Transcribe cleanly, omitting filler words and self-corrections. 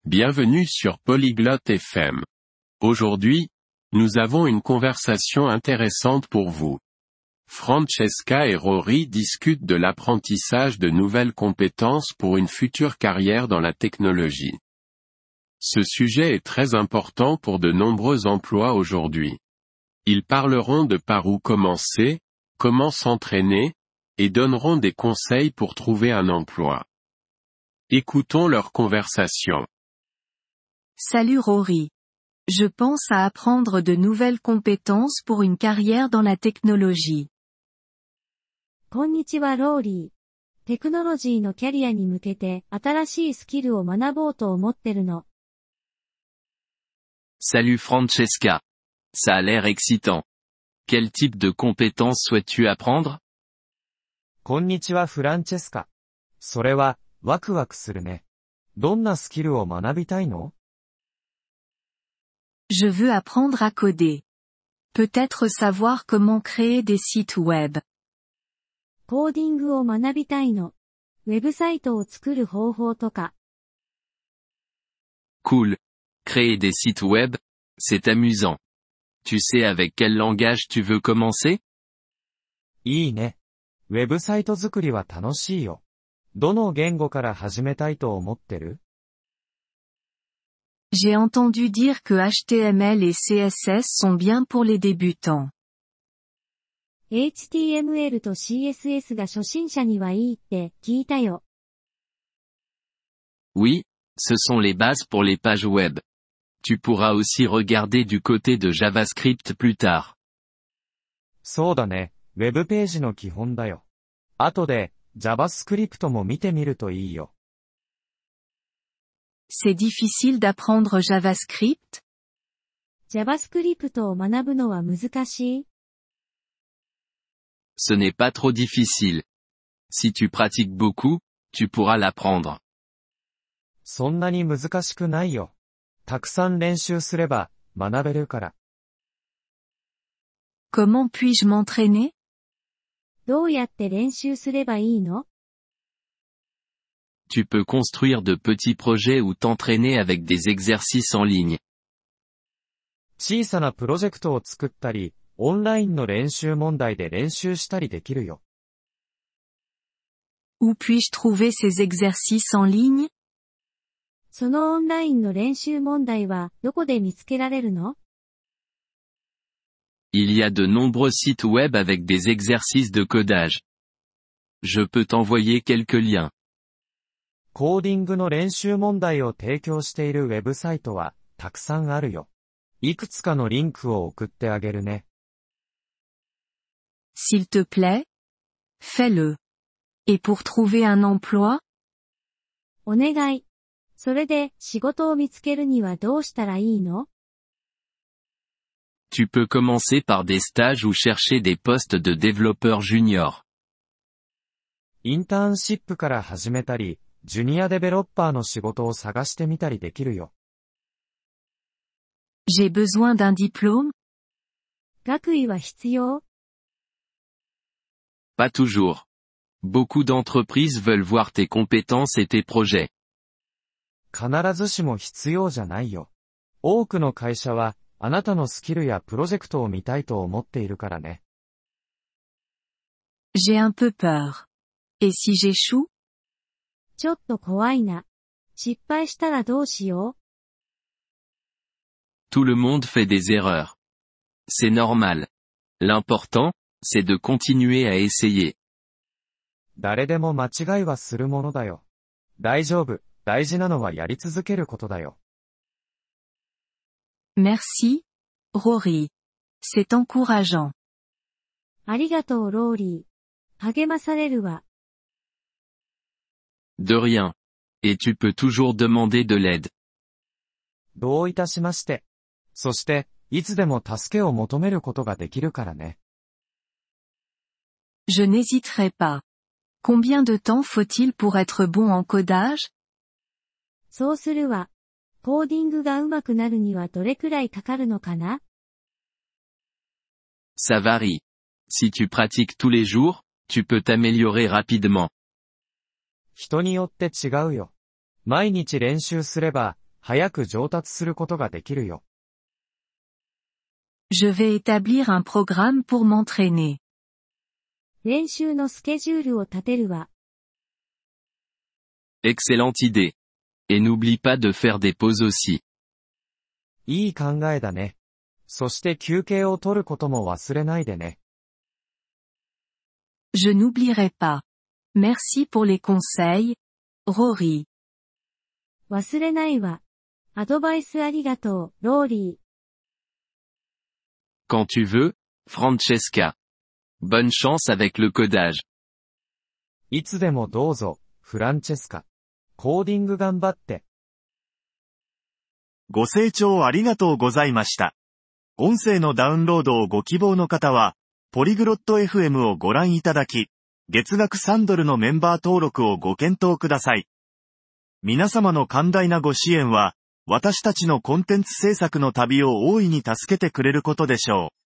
Bienvenue sur Polyglotte FM. Aujourd'hui, nous avons une conversation intéressante pour vous. Francesca et Rory discutent de l'apprentissage de nouvelles compétences pour une future carrière dans la technologie. Ce sujet est très important pour de nombreux emplois aujourd'hui. Ils parleront de par où commencer, comment s'entraîner, et donneront des conseils pour trouver un emploi. Écoutons leur conversation. Salut Rory. Je pense à apprendre de nouvelles compétences pour une carrière dans la technologie. こんにちはローリー。テクノロジーのキャリアに向けて新しいスキルを学ぼうと思ってるの。 Salut Francesca. Ça a l'air excitant. Quel type de compétences souhaites-tu apprendre? こんにちはフランチェスカ。それは、ワクワクするね。どんなスキルを学びたいの？ Je veux apprendre à coder. Peut-être savoir comment créer des sites web. コーディングを学びたいの。ウェブサイトを作る方法とか。 Cool. Créer des sites web, c'est amusant. Tu sais avec quel langage tu veux commencer? いいね。ウェブサイト作りは楽しいよ。どの言語から始めたいと思ってる？ J'ai entendu dire que HTML et CSS sont bien pour les débutants. HTML と CSS が初心者にはいいって聞いたよ。 Oui, ce sont les bases pour les pages web. Tu pourras aussi regarder du côté de JavaScript plus tard. そうだね。ウェブページの基本だよ。後で、JavaScript も見てみるといいよ。 C'est difficile d'apprendre JavaScript? JavaScript を学ぶのは難しい？ Ce n'est pas trop difficile. Si tu pratiques beaucoup, tu pourras l'apprendre. そんなに難しくないよ。たくさん練習すれば、学べるから。 Comment puis-je m'entraîner? どうやって練習すればいいの？ Tu peux construire de petits projets ou t'entraîner avec des exercices en ligne. 小さなプロジェクトを作ったり、オンラインの練習問題で練習したりできるよ。 Où puis-je trouver ces exercices en ligne? そのオンラインの練習問題はどこで見つけられるの？ Il y a de nombreux sites web avec des exercices de codage. Je peux t'envoyer quelques liens. コーディングの練習問題を提供しているウェブサイトはたくさんあるよ。いくつかのリンクを送ってあげるね。 S'il te plaît? Fais-le. Et pour trouver un emploi? お願い。それで仕事を見つけるにはどうしたらいいの？ Tu peux commencer par des stages ou chercher des postes de développeur junior. インターンシップから始めたり、ジュニアデベロッパーの仕事を探してみたりできるよ。 J'ai besoin d'un diplôme? 学位は必要？ Pas toujours. Beaucoup d'entreprises veulent voir tes compétences et tes projets. 必ずしも必要じゃないよ。多くの会社は、あなたのスキルやプロジェクトを見たいと思っているからね。 J'ai un peu peur. Et si j'échoue? ちょっと怖いな。失敗したらどうしよう？ Tout le monde fait des erreurs. C'est normal. L'important, c'est de continuer à essayer. 誰でも間違いはするものだよ。大丈夫。大事なのはやり続けることだよ。 Merci, Rory. C'est encourageant. ありがとうローリー。励まされるわ。 De rien. Et tu peux toujours demander de l'aide. どういたしまして。そして、いつでも助けを求めることができるからね。 Je n'hésiterai pas. Combien de temps faut-il pour être bon en codage? そうするわ。コーディングが上手くなるにはどれくらいかかるのかな？ Ça varie. Si tu pratiques tous les jours, tu peux t'améliorer rapidement. 人によって違うよ。毎日練習すれば、 早く上達することができるよ。 Je vais établir un programme pour m'entraîner. 練習のスケジュールを立てるわ。 Excellente idée. Et n'oublie pas de faire des pauses aussi. いい考えだね。そして休憩を取ることも忘れないでね。 Je n'oublierai pas. Merci pour les conseils, Rory. 忘れないわ。アドバイスありがとう、ローリー。 Quand tu veux, Francesca. Bonne chance avec le codage. いつでもどうぞ、フランチェスカ。コーディング頑張って。 ご清聴ありがとうございました。音声のダウンロードをご希望の方は、ポリグロット FM をご覧いただき、月額3ドルのメンバー登録をご検討ください。皆様の寛大なご支援は、私たちのコンテンツ制作の旅を大いに助けてくれることでしょう。